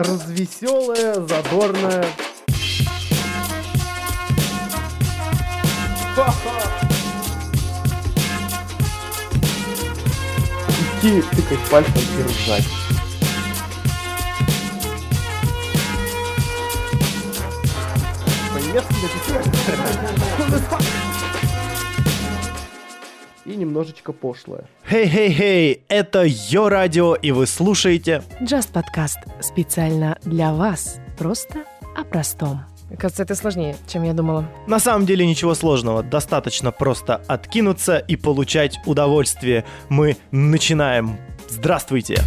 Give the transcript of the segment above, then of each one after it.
развеселая, задорная. Идти, тыкать пальцем и ржать. По-немецки написано. И немножечко пошлое. Хей-хей-хей, это Йо Радио, и вы слушаете Just Podcast специально для вас. Просто о простом. Кажется, это сложнее, чем я думала. На самом деле ничего сложного, достаточно просто откинуться и получать удовольствие. Мы начинаем. Здравствуйте!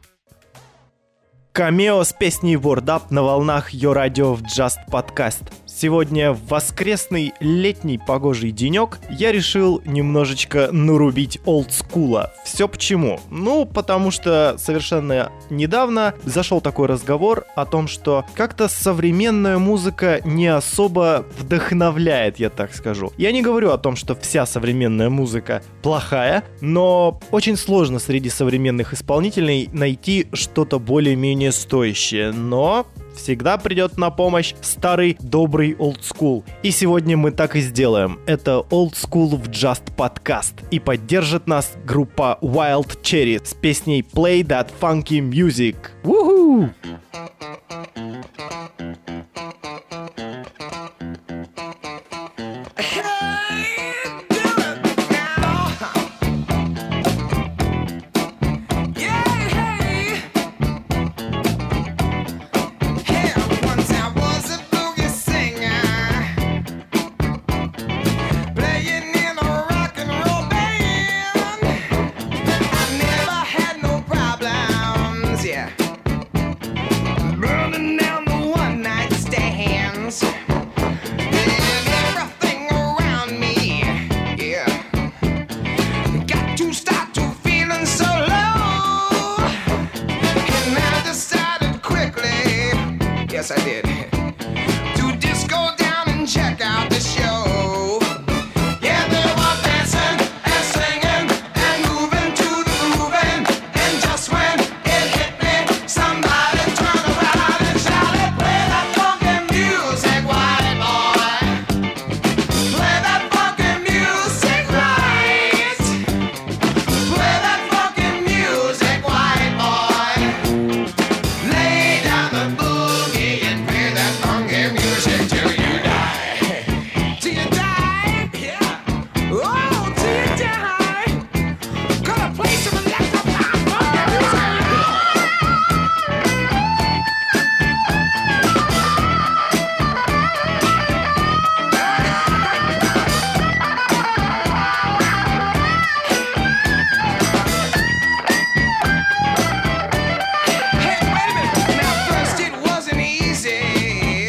Камео с песней Word Up на волнах Йо Радио в Just Podcast. Сегодня в воскресный летний погожий денек я решил немножечко нарубить олдскула. Все почему? Ну, потому что совершенно недавно зашел такой разговор о том, что как-то современная музыка не особо вдохновляет, я так скажу. Я не говорю о том, что вся современная музыка плохая, но очень сложно среди современных исполнителей найти что-то более-менее стоящее. Но всегда придет на помощь старый добрый олдскул. И сегодня мы так и сделаем. Это Old School в Just Podcast. И поддержит нас группа Wild Cherry с песней Play That Funky Music. Woohoo! Yes, I did. To disco down and check out the show. Yeah, they were dancing and singing and moving to the grooving. And just when it hit me, somebody turned around and shouted, "Play that funky music, white boy. Play that funky music right. Play that funky music, white boy. Lay down the boogie and play that funky music till you die." Till you die? Yeah. Oh, till you die. Gonna play some electric funky music. Hey, wait a minute. Now, first it wasn't easy.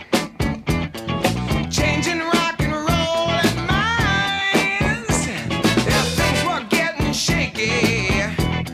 Changing rock and roll and minds. Yeah, things were getting shaky.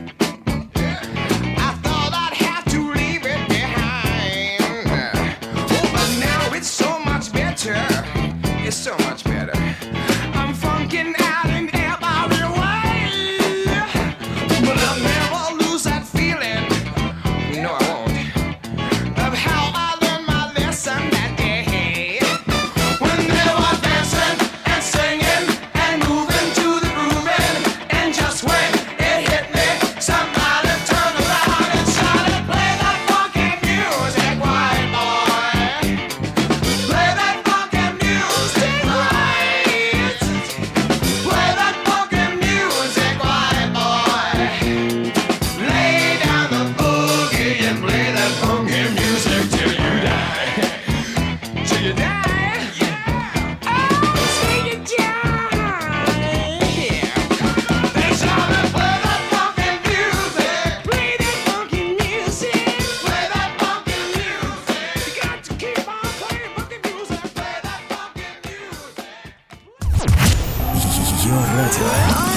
I thought I'd have to leave it behind. Oh, but now it's so much better. It's so much better. I'm funking out in every way. But I'll never lose that feeling. No, I won't. Of how I learned my lesson that day. When they were dancing and singing and moving to the grooving. And just when it hit me, somebody turned around and shouted, "Play that funky music, white boy. Play that funky music right. Play that funky music, white boy. Lay down the boogie and play that funky music till you die." Till you die? Yeah. Oh, till you die. Yeah. They shouted, "Play that funky music. Play that funky music. Play that funky music. You got to keep on playing funky music. Play that funky music." Ее радио.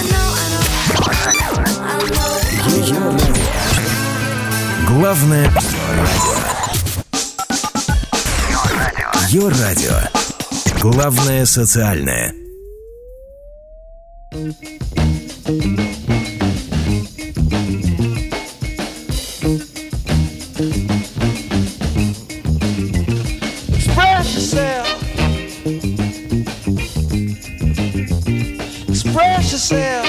Ее радио. Главное радио. Ее радио. Главное социальное. Express yourself. Express yourself.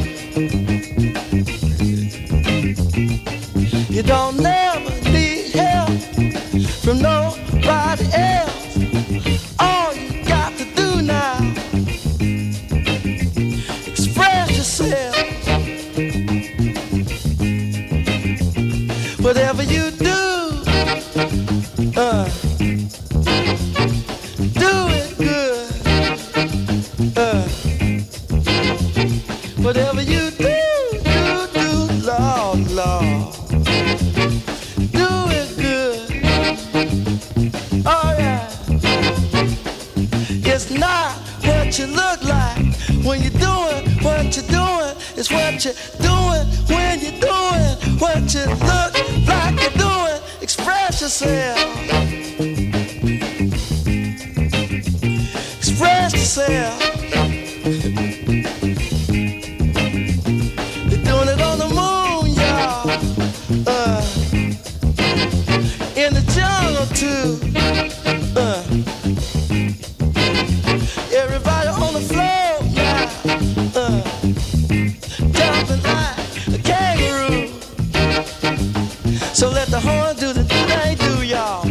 You don't never need help from nobody else. All you got to do now, express yourself. Whatever you do, do it good. Whatever you do, Lord, Lord. Do it good. Oh yeah. is what you're doing when you're doing what you look like you're doing. Express yourself. Express yourself. They're doing it on the moon, y'all. In the jungle too. Everybody on the floor, yeah. Jumping like a kangaroo. So let the horn do the thing they do, y'all.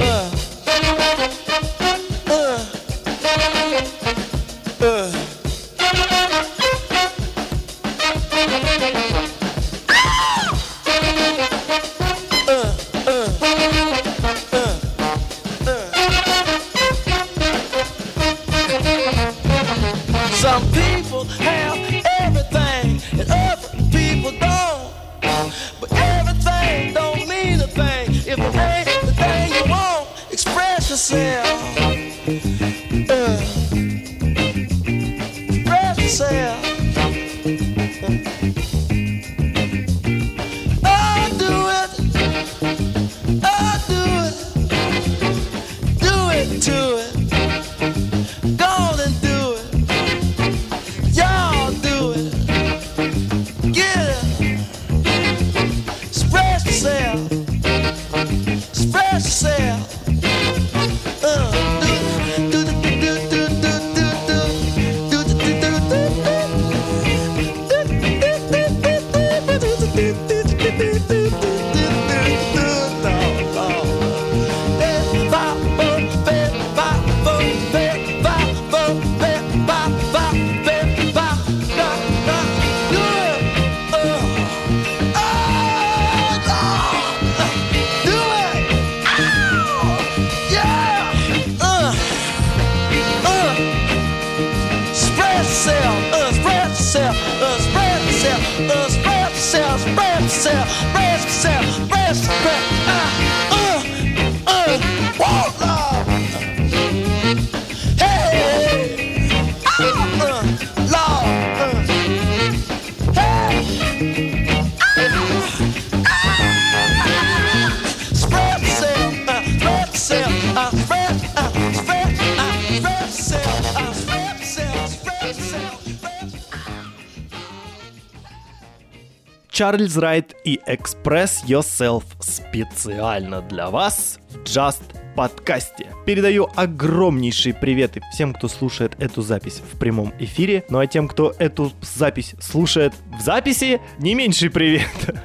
Some people have everything and other people don't. But everything don't mean a thing if it ain't the thing you want. Express yourself. Express yourself. Oh, do it. Oh, do it. Do it to it. Go on and do it. Y'all do it. Get it. Express yourself. Express yourself. Чарльз Райт и Express Yourself специально для вас в Just подкасте. Передаю огромнейшие приветы всем, кто слушает эту запись в прямом эфире. Ну а тем, кто эту запись слушает в записи, не меньший привет.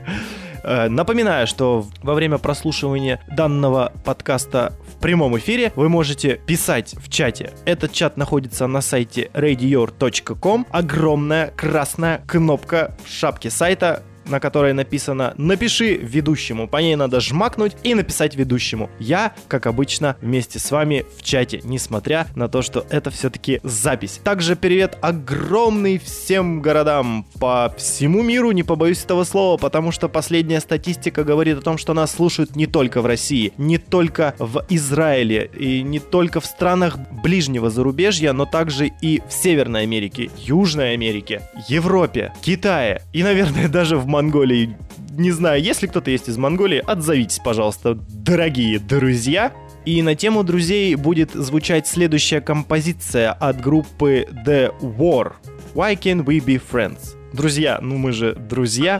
Напоминаю, что во время прослушивания данного подкаста в прямом эфире вы можете писать в чате. Этот чат находится на сайте radior.com. Огромная красная кнопка в шапке сайта, на которой написано «Напиши ведущему». По ней надо жмакнуть и написать ведущему. Я, как обычно, вместе с вами в чате, несмотря на то, что это все-таки запись. Также привет огромный всем городам по всему миру, не побоюсь этого слова, потому что последняя статистика говорит о том, что нас слушают не только в России, не только в Израиле и не только в странах ближнего зарубежья, но также и в Северной Америке, Южной Америке, Европе, Китае и, наверное, даже в Монголии. Не знаю, если кто-то есть из Монголии, отзовитесь, пожалуйста, дорогие друзья. И на тему друзей будет звучать следующая композиция от группы The War. Why Can't We Be Friends? Друзья, ну мы же друзья.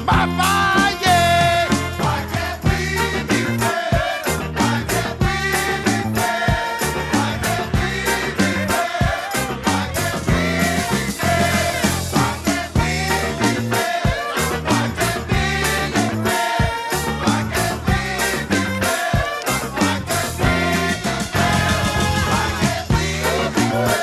by fire, yeah. Why can't we be fair? Why can't we be fair? Why can't we be fair? Why can't we be fair? Why can't we be fair? Why can't we be fair? Why can't we be fair? Why can't we be fair?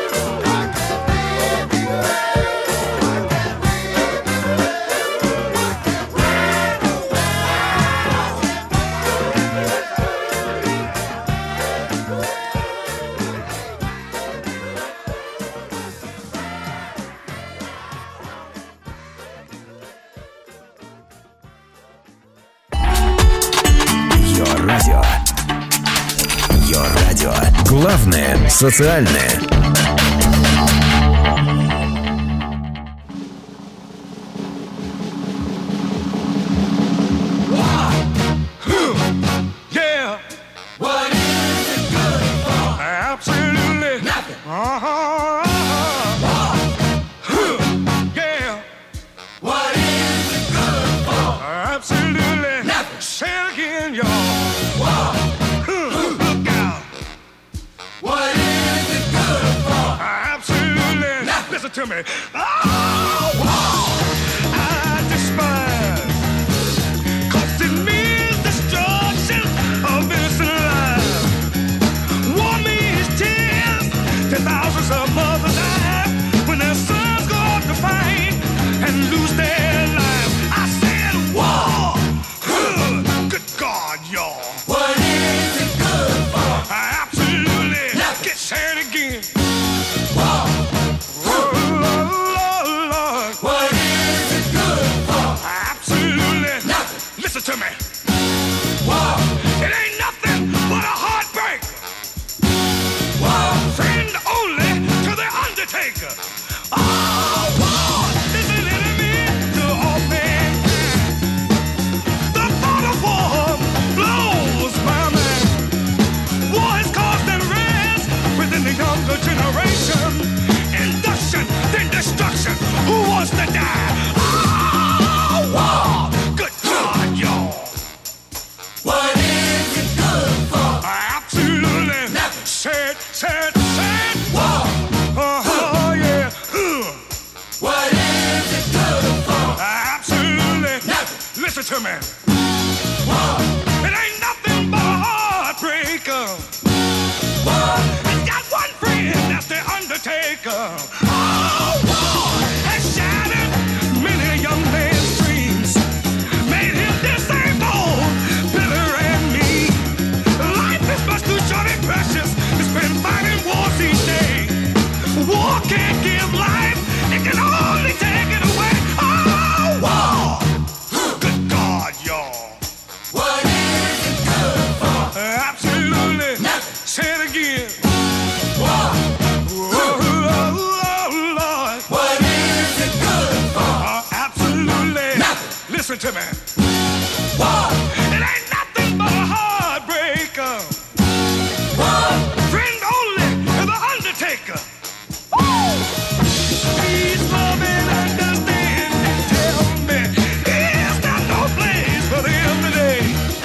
Йо-радио. Йо-радио. Главное социальное. Yeah. What is it good for? Absolutely nothing. Yeah. What is it good for? Absolutely nothing. Say it again, y'all. Look out. What is it good for? Absolutely nothing. Listen to me. I despise. 'Cause it means destruction of innocent lives. War means tears to thousands of mothers die when their sons go off to fight and lose their lives. I said war. Good God, y'all. What is it good for? Absolutely. Get said again. War. Lord. What is it good for? Absolutely nothing. Listen to me. War. It ain't nothing but a heartbreak. War. Friend only to the undertaker. Oh, war is an enemy to all mankind. The thought of war blows my mind. War has caused unrest within the younger generation. Induction, then destruction. Who wants to die? Oh, war. Good God, y'all. What is it good for? Absolutely nothing. Said. War. Yeah. What is it good for? Absolutely nothing. Listen to me. War. It ain't nothing but a heartbreaker. War. It's got one friend, that's the undertaker. Oh, war has shattered many young man's dreams, made him disabled, bitter and mean. Life is much too short and precious to spend fighting wars each day. War can't give life, it can only take it away. Oh, war! Good God, y'all. What is it good for? Absolutely nothing. Say it again. War. Lord. What is it good for? Absolutely nothing. Listen to me. War. It ain't nothing but a heartbreaker. War. Friend only to the undertaker. Woo! Please love and understand and tell me, is there no place for them today?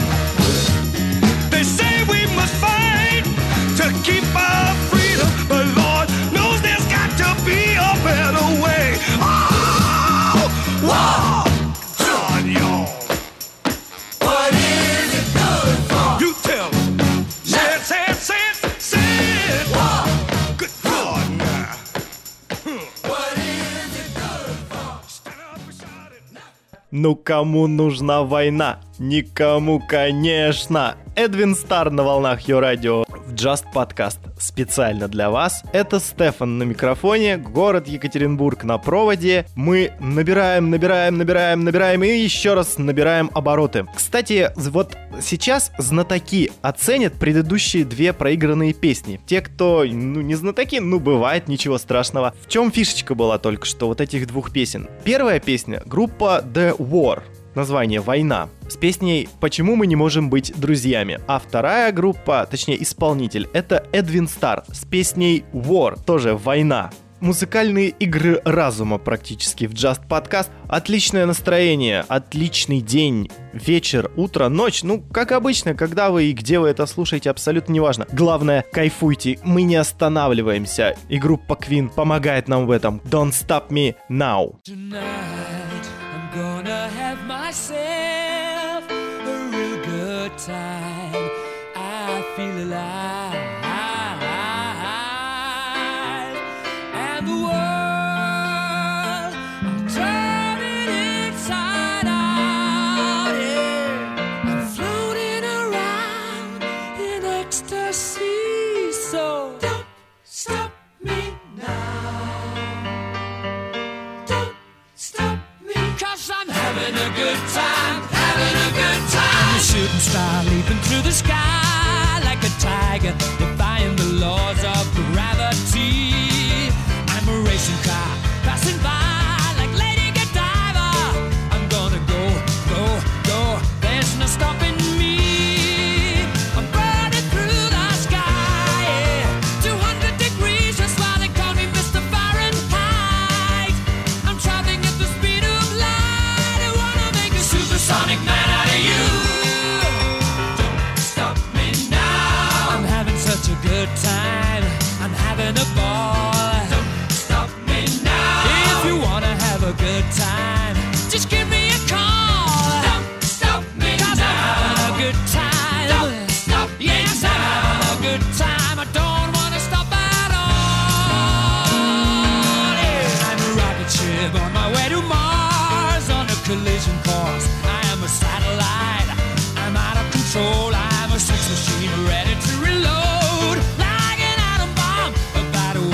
They say we must fight to keep our freedom, but Lord knows there's got to be a better way. Oh, wow, God, y'all. What is it good for? You tell me. Say it. Wow. Good God, now. What is it good for? Stand up and shout it. Ну кому нужна война? Никому, конечно. Эдвин Стар на волнах Йо-радио в Just Podcast. Специально для вас. Это Стефан на микрофоне, город Екатеринбург на проводе. Мы набираем и еще раз набираем обороты. Кстати, вот сейчас знатоки оценят предыдущие две проигранные песни. Те, кто, не знатоки, бывает, ничего страшного. В чем фишечка была только что вот этих двух песен? Первая песня — группа The War. Название «Война», с песней «Почему мы не можем быть друзьями». А вторая группа, точнее исполнитель, это Эдвин Стар с песней «War», тоже «Война». музыкальные игры разума практически в Just Podcast. Отличное настроение, отличный день, вечер, утро, ночь. Ну, как обычно, когда вы и где вы это слушаете, абсолютно неважно. Главное, кайфуйте, мы не останавливаемся. И группа Queen помогает нам в этом. Don't Stop Me Now. Tonight I'm gonna have myself a real good time. I feel alive, and the world I'm turning inside out. Yeah, I'm floating around in ecstasy. So don't stop me now. Stop me, 'cause I'm having a good time, having a good time. A shooting star leaping through the sky like a tiger, defying the laws of gravity. I'm a racing car passing by like Lady Godiva. I'm gonna go, go, go. There's no stopping me. I'm burning through the sky, yeah. 200 degrees, that's why they call me Mr. Fahrenheit. I'm traveling at the speed of light. I wanna make a supersonic man out of you. Don't stop me now. I'm having such a good time. I'm having a ball. Don't stop me now. If you wanna have a good time, just give me a call. Don't stop me 'cause now. I'm having a good time. Don't stop me yes, now. I'm having a good time. I don't wanna stop at all. Yeah. I'm a rocket ship on my way to Mars on a collision course. I am a satellite. I'm out of control. I'm a sex machine ready to reload like an atom bomb about to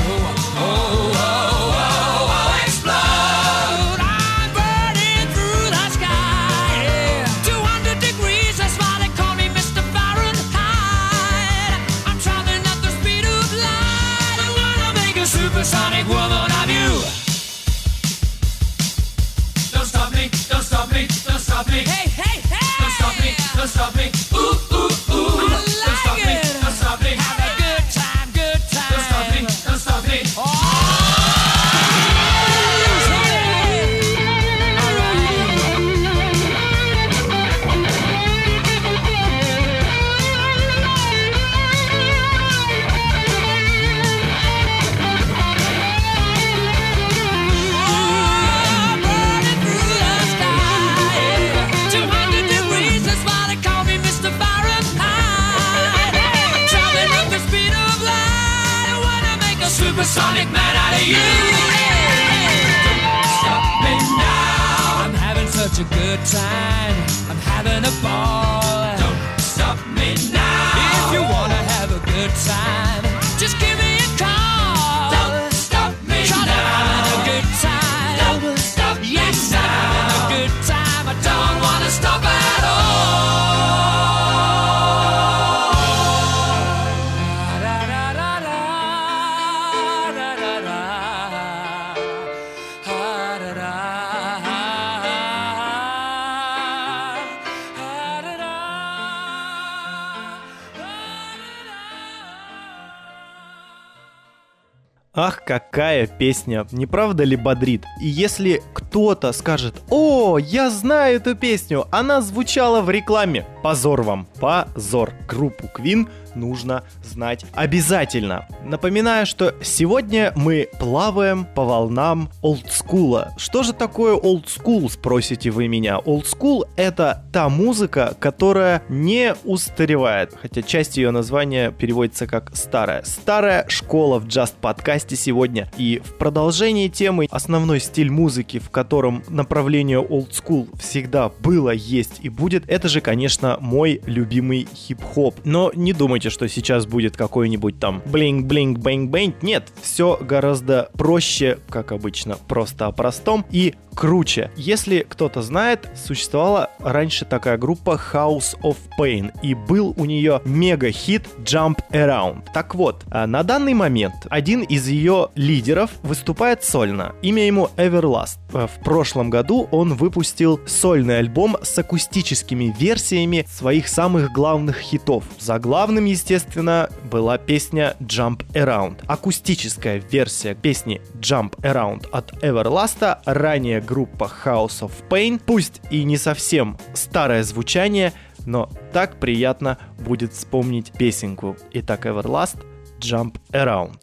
explode. I'm burning through the sky. Yeah. 200 degrees, that's why they call me Mr. Fahrenheit. I'm traveling at the speed of light. I wanna make a supersonic woman of you. Don't stop me, don't stop me, don't stop me. Hey, hey, hey! Don't stop me, don't stop me. Ooh, ooh, ooh. I like don't stop me, don't stop me. Have a good time, good time. Don't stop me, don't stop me. Oh! Burning through the sky. 200 degrees, that's why they call me Mr. Fahrenheit. Traveling at the speed of light. I wanna make a supersonic man out of you. Don't stop me now. I'm having such a good time. I'm having a ball. Don't stop me now. If you wanna have a good time, just give me a call. Don't stop me now. I'm having a good time. Don't stop me yes, now. I'm having a good time. I don't wanna stop at Ах, какая песня, не правда ли бодрит? И если кто-то скажет: «О, я знаю эту песню, она звучала в рекламе», позор вам, позор. Группу Queen нужно знать обязательно. Напоминаю, что сегодня мы плаваем по волнам олдскула. Что же такое олдскул, спросите вы меня? Олдскул — это та музыка, которая не устаревает, хотя часть ее названия переводится как старая. Старая школа в Just подкасте сегодня. И в продолжении темы основной стиль музыки, в котором направление олдскул всегда было, есть и будет, это же, конечно, мой любимый хип-хоп. Но не думайте, что сейчас будет какой-нибудь там блинг-блинг-бэнг-бэнг. Нет, все гораздо проще, как обычно, просто о простом и круче. Если кто-то знает, существовала раньше такая группа House of Pain, и был у нее мега-хит Jump Around. Так вот, на данный момент один из ее лидеров выступает сольно. Имя ему Everlast. В прошлом году он выпустил сольный альбом с акустическими версиями версиями своих самых главных хитов. Заглавным, естественно, была песня Jump Around. Акустическая версия песни Jump Around от Everlast, ранее группа House of Pain. Пусть и не совсем старое звучание, но так приятно будет вспомнить песенку. Итак, Everlast, Jump Around.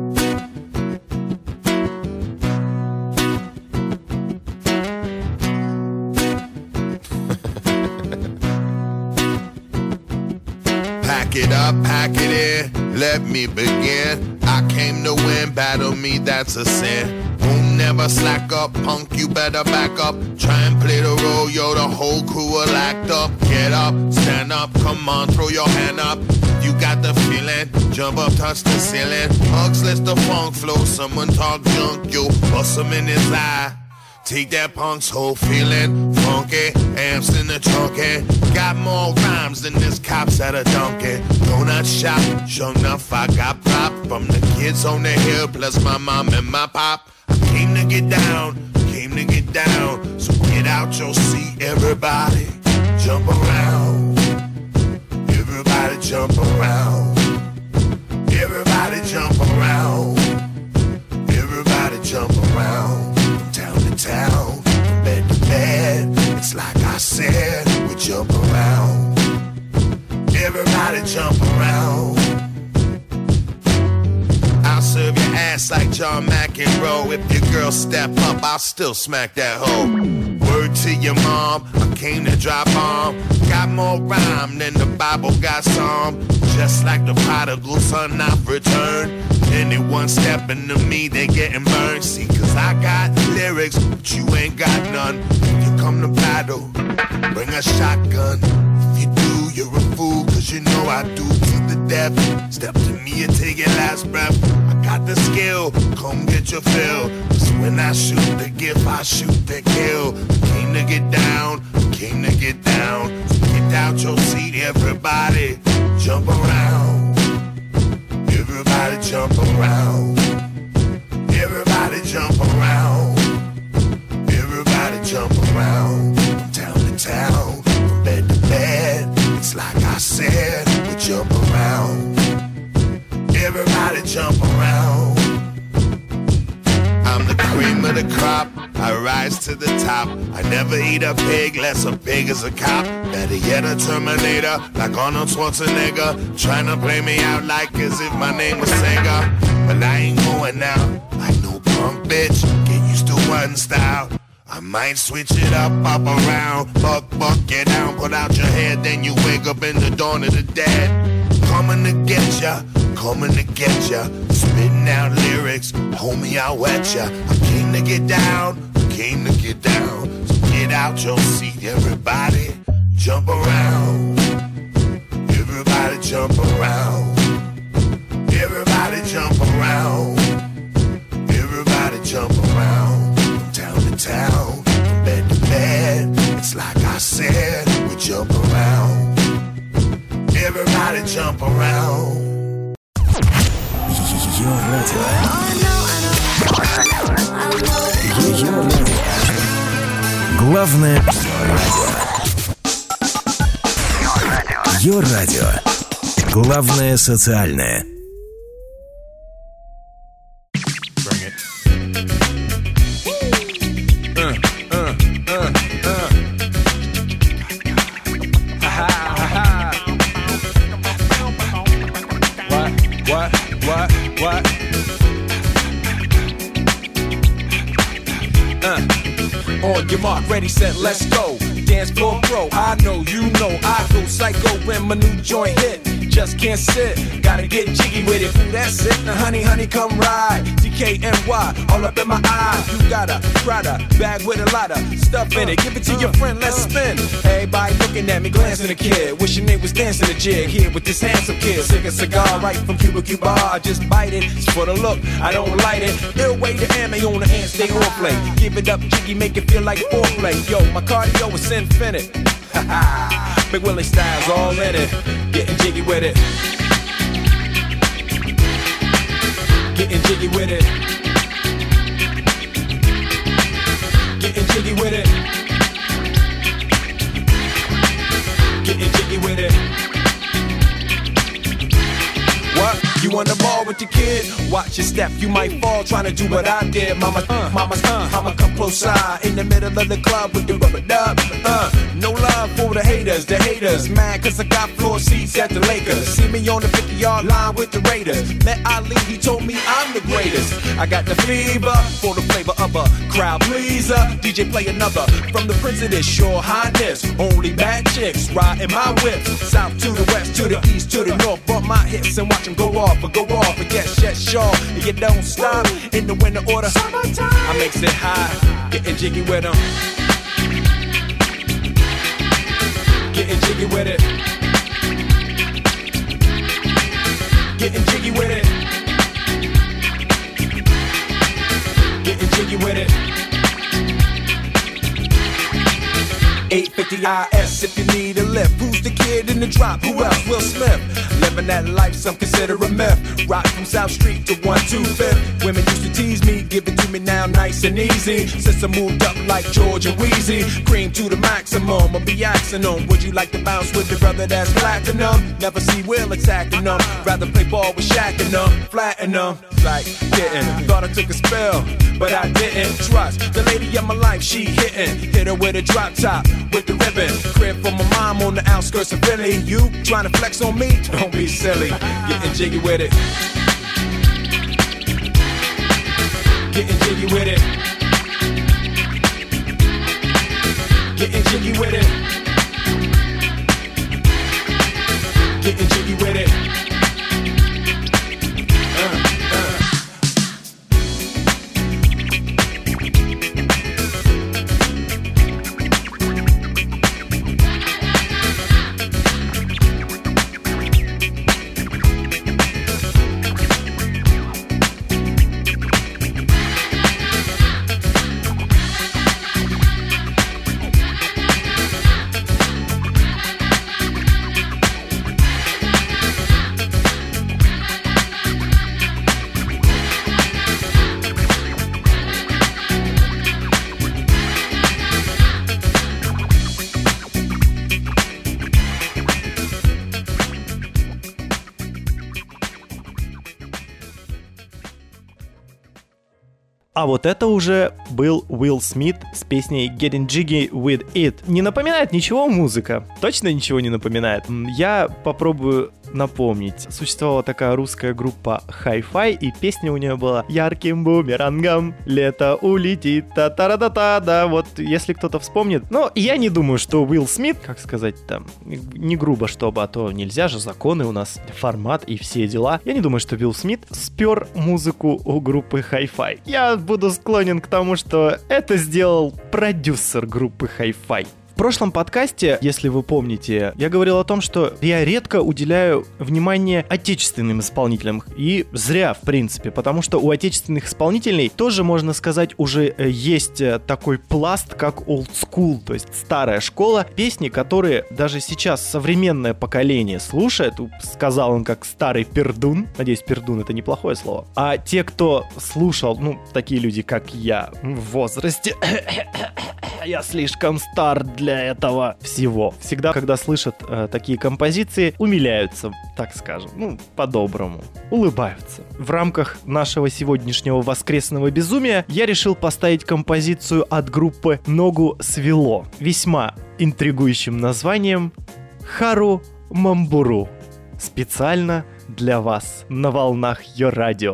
Pack it up, pack it in, let me begin. I came to win, battle me, that's a sin. Won't never slack up, punk, you better back up. Try and play the role, yo, the whole crew will act up. Get up, stand up, come on, throw your hand up. You got the feeling, jump up, touch the ceiling. Hugs, let the funk flow, someone talk junk, yo, bust him in his eye. Take that punk's whole feeling, funky, amps in the trunk, got more rhymes than this cops at a donkey. Donut shop, sure enough I got pop from the kids on the hill, plus my mom and my pop. I came to get down, so get out your seat, everybody, jump around. Everybody jump around. Everybody jump around. Everybody jump around. Town to town, from bed to bed. It's like I said, we jump around. Everybody jump around. I'll serve your ass like John McEnroe. If your girl step up, I'll still smack that hoe. Word to your mom, I came to drop bomb. Got more rhyme than the Bible got psalm. Just like the prodigal son, I've returned. Anyone stepping to me, they getting burned. See, cause I got lyrics, but you ain't got none. If you come to battle, bring a shotgun. If you do, you're a fool, cause you know I do to the death. Step to me and take your last breath. I got the skill, come get your fill. Cause when I shoot the gift, I shoot the kill. Came to get down, came to get down. So get out your seat, everybody, jump around. Everybody jump around. Everybody jump around. Everybody jump around. From town to town, from bed to bed. It's like I said, we jump around. Everybody jump around. I'm the cream of the crop, I rise to the top. I never eat a pig, less a pig is a cop. Better yet a Terminator, like Arnold Schwarzenegger. Trying to play me out like as if my name was Sega. But I ain't going out like no punk bitch. Get used to one style, I might switch it up around. Buck, get down, put out your head. Then you wake up in the dawn of the dead. Coming to get ya, coming to get ya. Spitting out lyrics, homie, I'll wet ya. I came to get down, came to get down. So get out your seat, everybody, jump around. Everybody jump around. Everybody jump around. Everybody jump around. From town to town, from bed to bed. It's like I said, we jump around. Everybody jump around. Ее радио. Ее радио. Главное радио. Ее радио. Главное социальное. What? On your mark, ready, set, let's go. Dance floor pro, I know, you know, I go psycho when my new joint hit. Just can't sit, gotta get jiggy with it. Ooh, that's it, now honey, come ride. DKNY, all up in my eye. You got a Prada bag with a lot of stuff in it. Give it to your friend, let's spin. Everybody looking at me, glancing a kid. Wishing they was dancing a jig here with this handsome kid. Sick a cigar right from Cuba Cuba. I just bite it, it's for the look, I don't light it. Ill way to ammo on the hand, stay on play. Give it up, jiggy, make it feel like foreplay. Yo, my cardio is infinite. Big Willie style's all in it. Getting jiggy with it. Getting jiggy with it. Getting jiggy with it. Getting with your kid, watch your step. You might fall trying to do what I did. Mama, I'ma come close side in the middle of the club with the rubber dub. No love for the haters. Mad cause I got floor seats at the Lakers. See me on the 50-yard line with the Raiders. Met Ali, he told me I'm the greatest. I got the fever for the flavor of a crowd pleaser. DJ play another from the Prince of this Your Highness. Only bad chicks riding my whip. South to the west, to the east, to the north. Bump my hips and watch them go off. And yes, sure. And you don't stop in the winter order. Summertime. I makes it high, getting jiggy with them. Getting jiggy with it. Getting jiggy with it. Getting jiggy with it. 850 IS if you need a lift. Who's the kid in the drop? Who else? Will Smith. Living that life some consider a myth. Rock from South Street to 125th. Women used to tease me, give it to me now nice and easy. Since I moved up like George and Wheezy, cream to the maximum. I'll be asking them, would you like to bounce with the brother that's platinum? Never see Will attacking them. Rather play ball with Shaq and them, flatten them. Like getting, thought I took a spell, but I didn't. Trust the lady of my life, she hitting. Hit her with a drop top, with the ribbon. Crib for my mom on the outskirts of Philly. You trying to flex on me? Don't be silly. Getting jiggy with it. Getting jiggy with it. Getting jiggy with it. Getting jiggy with it. А вот это уже был Уилл Смит с песней Getting Jiggy With It. Не напоминает ничего музыка? Точно ничего не напоминает? Я попробую напомнить. Существовала такая русская группа Hi-Fi, и песня у нее была «Ярким бумерангом лето улетит, та-та-ра-та-та». Да, вот если кто-то вспомнит. Но я не думаю, что Уилл Смит, как сказать там, не грубо чтобы, а то нельзя же, законы у нас, формат и все дела. Я не думаю, что Уилл Смит спер музыку у группы Hi-Fi. Я буду склонен к тому, что это сделал продюсер группы Hi-Fi. В прошлом подкасте, если вы помните, я говорил о том, что я редко уделяю внимание отечественным исполнителям. И зря, в принципе, потому что у отечественных исполнителей тоже, можно сказать, уже есть такой пласт, как old school, то есть старая школа. Песни, которые даже сейчас современное поколение слушает, сказал он как старый пердун. Надеюсь, пердун — это неплохое слово. А те, кто слушал, такие люди, как я, в возрасте... Я слишком стар для этого всего. Всегда, когда слышат такие композиции, умиляются, так скажем, по-доброму, улыбаются. В рамках нашего сегодняшнего воскресного безумия я решил поставить композицию от группы «Ногу свело» весьма интригующим названием «Хару Мамбуру». Специально для вас на волнах Йо-Радио.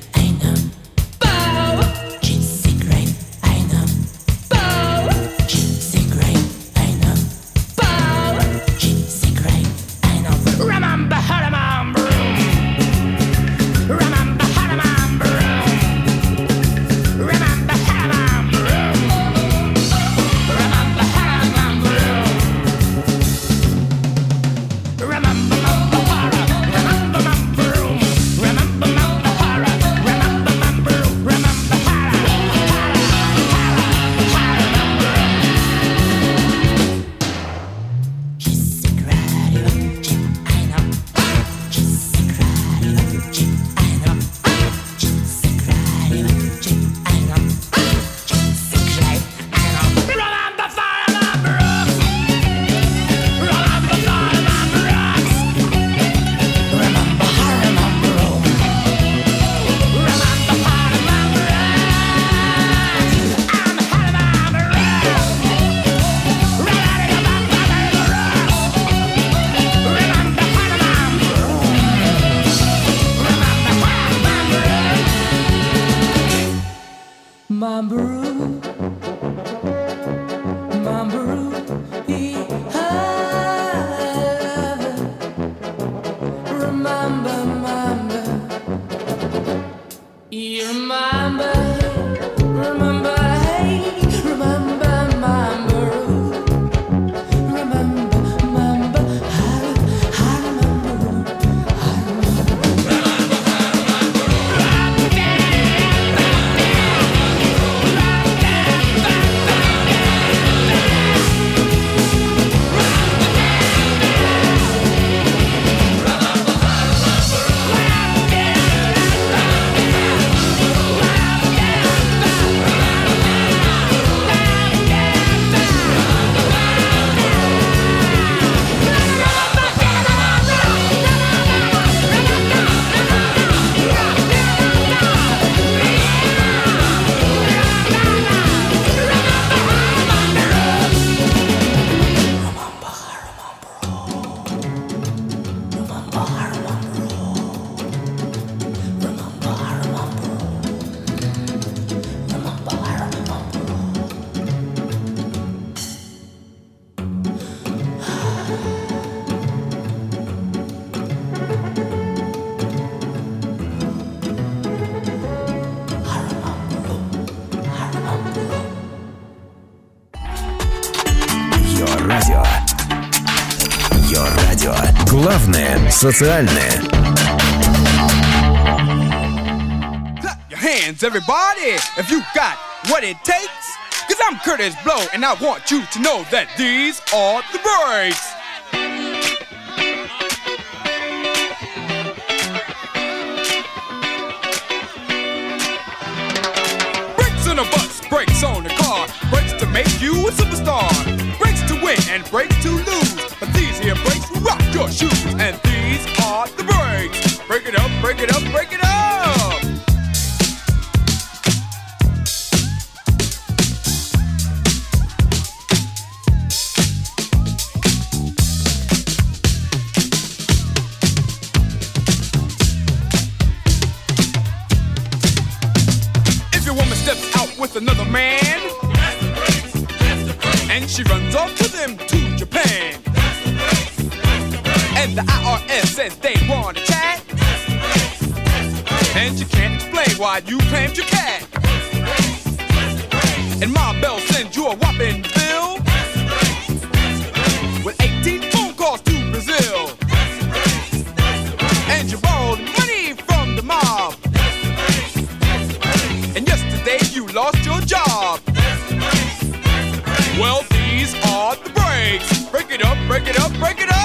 Bow. Главное социальное. Clap your hands, everybody, if you got what it takes. Cause I'm Curtis Blow, and I want you to know that these are the breaks. Brakes on the bus, brakes on the car, brakes to make you a superstar, brakes to win and brakes to lose. But these here brakes rock your shoes, and these are the breaks. Break it up, break it up, break it up. With another man, that's the breaks, that's the breaks. And she runs off to them to Japan, that's the breaks, that's the breaks. And the IRS says they want to chat, that's the breaks, that's the breaks. And you can't explain why you claimed your cat, that's the breaks, that's the breaks. And Ma Bell sends you a whopping bill, that's the breaks, that's the breaks. With 18 phone calls to Brazil, that's the breaks, that's the breaks. And you borrowed money from the mob, that's the breaks, that's the breaks. And yesterday you lost your job. Well, these are the breaks. Break it up, break it up, break it up.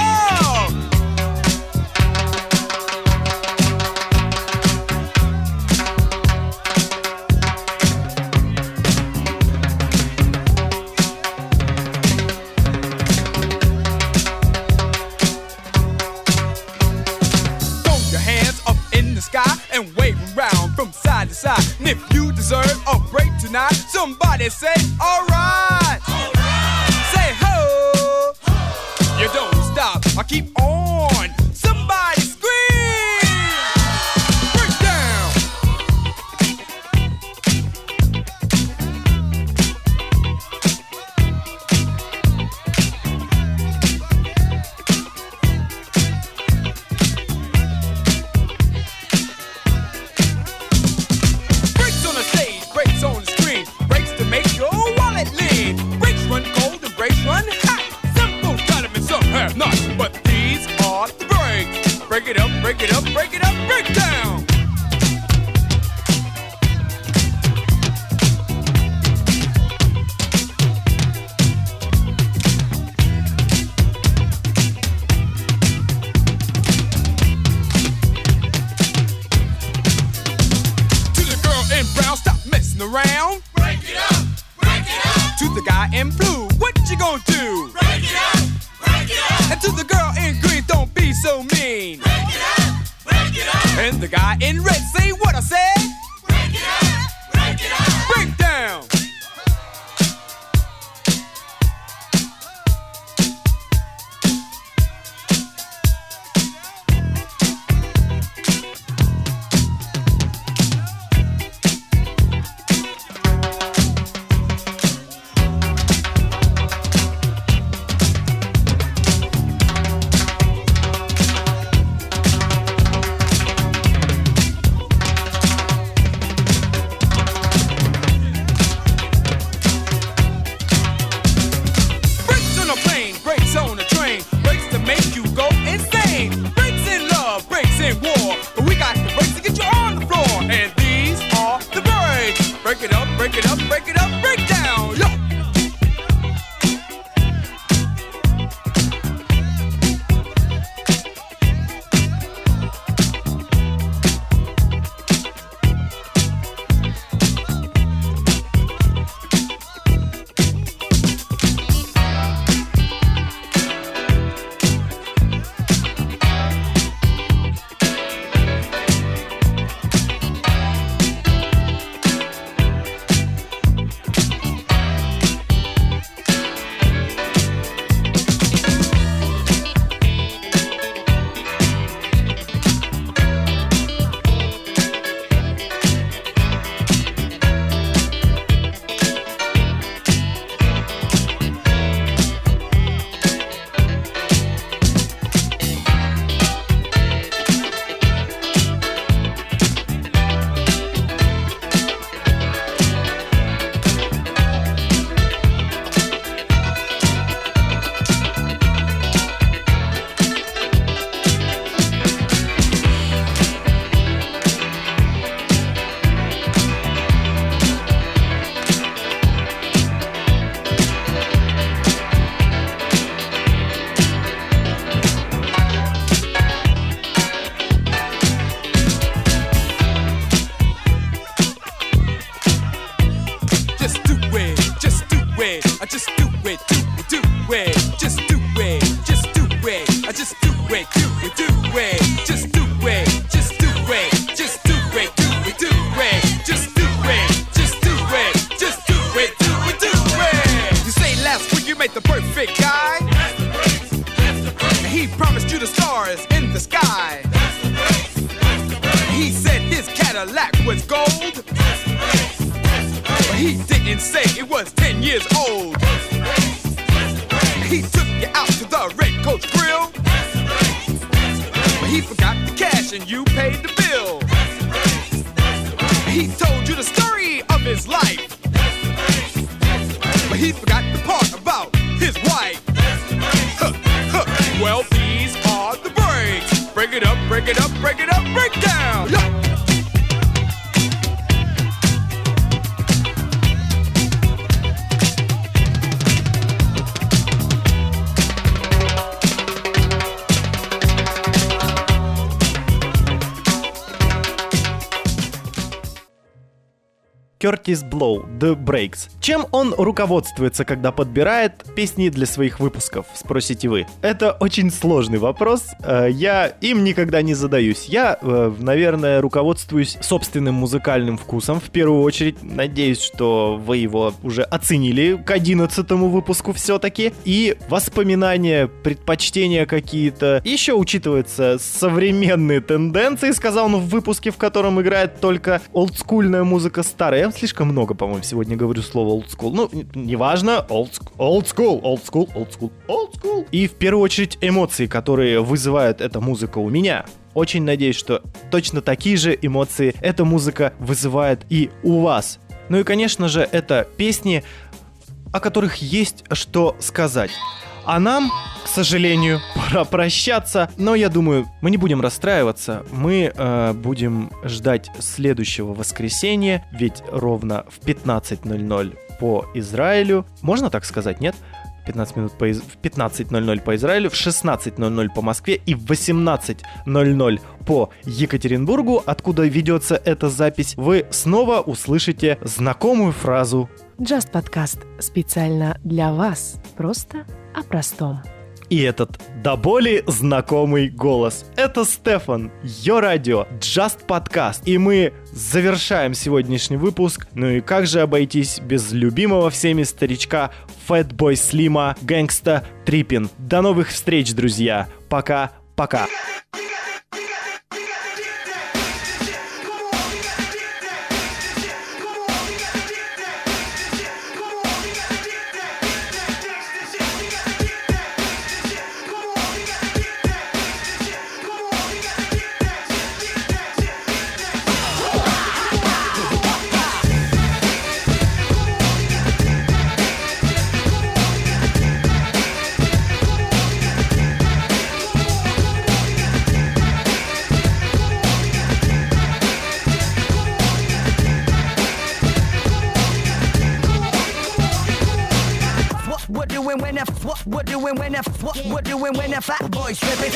Throw your hands up in the sky and wave around from side to side. And if you deserve a break tonight, somebody say, alright. Say ho. You don't stop, I keep on. Somebody scream. Break down. Breaks on the stage, breaks on the screen, breaks to make your wallet lean. Breaks run cold and breaks run hot. Some folks got them and some have not. But these are the breaks. Break it up, break it up, break it up, break down. To the girl in brown, stop messing around. Break it up, break it up. To the guy in blue, what you gonna do? Break it up, break it up. And to the girl in green, don't be so mean. Break it up, break it up. And the guy in red, say what I said. Break it up, break it up. Break down. Brakes on a plane, brakes on a train, brakes to make you go insane. Brakes in love, brakes in war, but we got the brakes to get you on the floor. And these are the brakes. Break it up, break it up, break it up, break down. Yo. it, just do it, just do it, just do it, do it, do it, just do it, just do it, just do it, do it, do it. You say last week you made the perfect guy. He promised you the stars in the sky. He said his Cadillac was gold, but he didn't say it was 10 years old. He took you out to the Red Coach Grill, but he forgot the cash and you paid the bill. He told you the story of his life, but he forgot the part about his wife. Well, these are the breaks. Break it up, break it up, break it up, break down. Yeah. Кертис Блоу, The Breaks. Чем он руководствуется, когда подбирает песни для своих выпусков, спросите вы? Это очень сложный вопрос, я им никогда не задаюсь. Я, наверное, руководствуюсь собственным музыкальным вкусом, в первую очередь. Надеюсь, что вы его уже оценили к 11-му выпуску все-таки. И воспоминания, предпочтения какие-то. Еще учитываются современные тенденции, сказал он в выпуске, в котором играет только олдскульная музыка старая. Я слишком много, по-моему, сегодня говорю слово old school. Ну, неважно. Old school. И в первую очередь эмоции, которые вызывает эта музыка у меня. Очень надеюсь, что точно такие же эмоции эта музыка вызывает и у вас. Ну и, конечно же, это песни, о которых есть что сказать. А нам, к сожалению, пора прощаться. Но я думаю, мы не будем расстраиваться. Мы будем ждать следующего воскресенья. Ведь ровно в 15:00 по Израилю. Можно так сказать, нет? 15:00 по Израилю, в 16:00 по Москве и в 18:00 по Екатеринбургу, откуда ведется эта запись, вы снова услышите знакомую фразу. Just подкаст специально для вас. Просто о простом. И этот до боли знакомый голос. Это Стефан, Йо Радио, Just Podcast. И мы завершаем сегодняшний выпуск. Ну и как же обойтись без любимого всеми старичка Fatboy Slim, Gangsta Trippin. До новых встреч, друзья. Пока-пока. What doing when that fat boy stripping?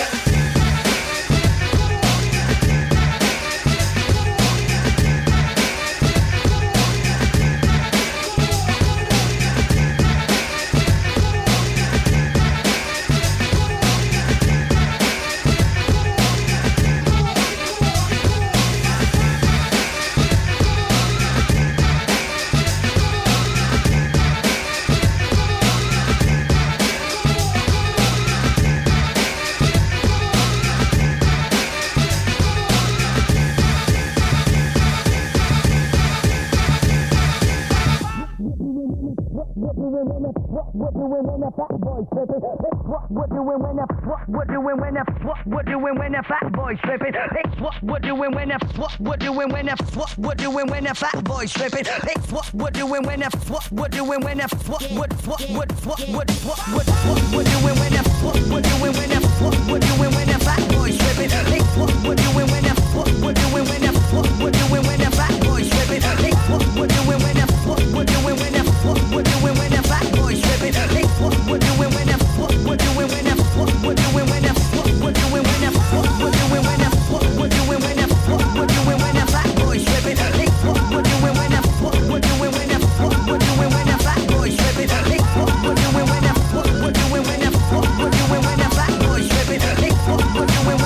What doing when that fat boy stripping? What doing when that fat boy stripping? What doing when that fat boy stripping? What doing when that What doing when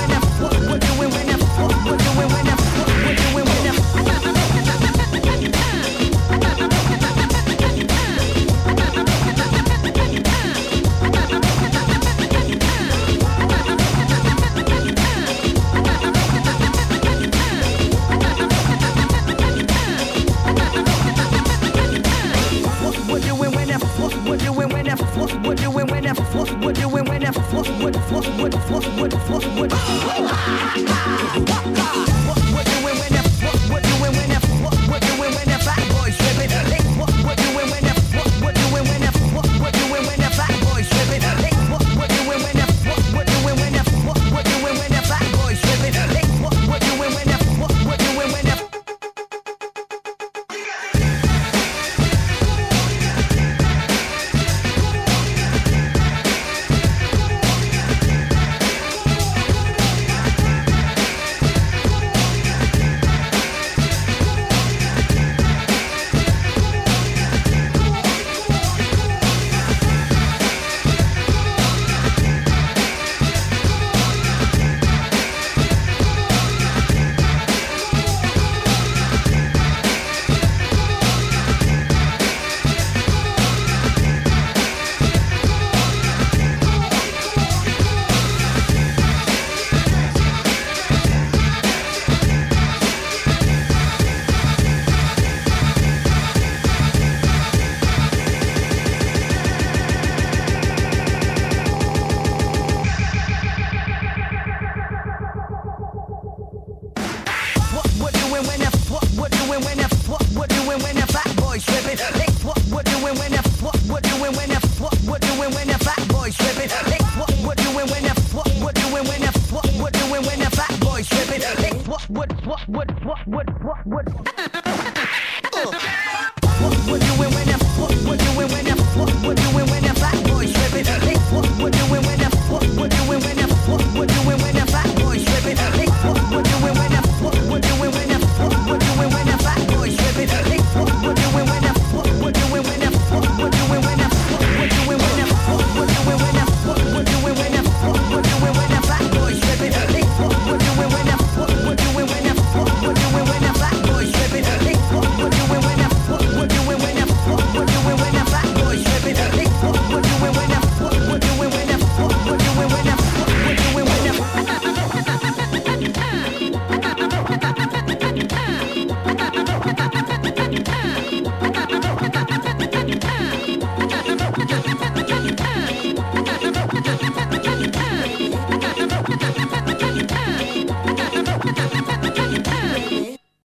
What doing when